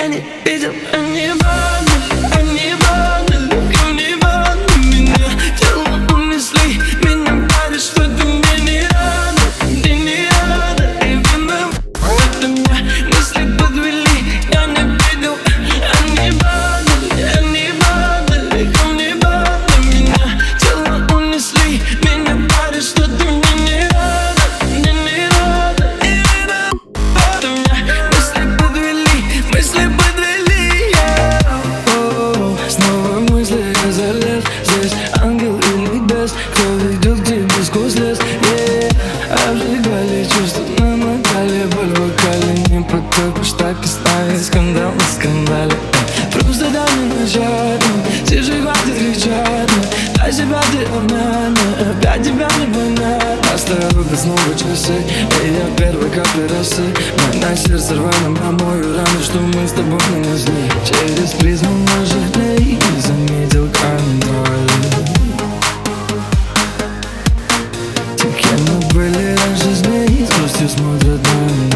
Я не видел, они обманывали меня. Тело унесли, меня парит, что ты мне не рада. Ты не рада, и виновата меня. Мысли подвели, я не видел, они обманывали меня. Тело унесли, меня парит, что ты мне не рада. Ты не рада, и виновата меня. Мысли подвели, yeah. Снова мысли я залез. Здесь ангел или бес, кто ведет к тебе сквозь лес, yeah. Обжигали чувства, намотали боль в вокале. Не потопишь, так и ставит скандал на скандале. Просто дай мне начать, тише хватит кричать. Дай себя ты обмяна, опять тебя не понять. Оставят снова часы, и я первой капли росы. На сердце рваным промою раны, что мы с тобой нанесли. Через призму наших дней заметил контроль. Те, кем мы были раньше, змеи с грустью смотрят на меня.